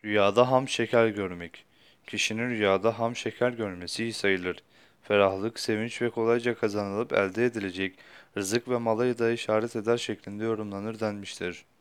Rüyada ham şeker görmek. Kişinin rüyada ham şeker görmesi iyi sayılır. Ferahlık, sevinç ve kolayca kazanılıp elde edilecek rızık ve mala da işaret eder şeklinde yorumlanır denmiştir.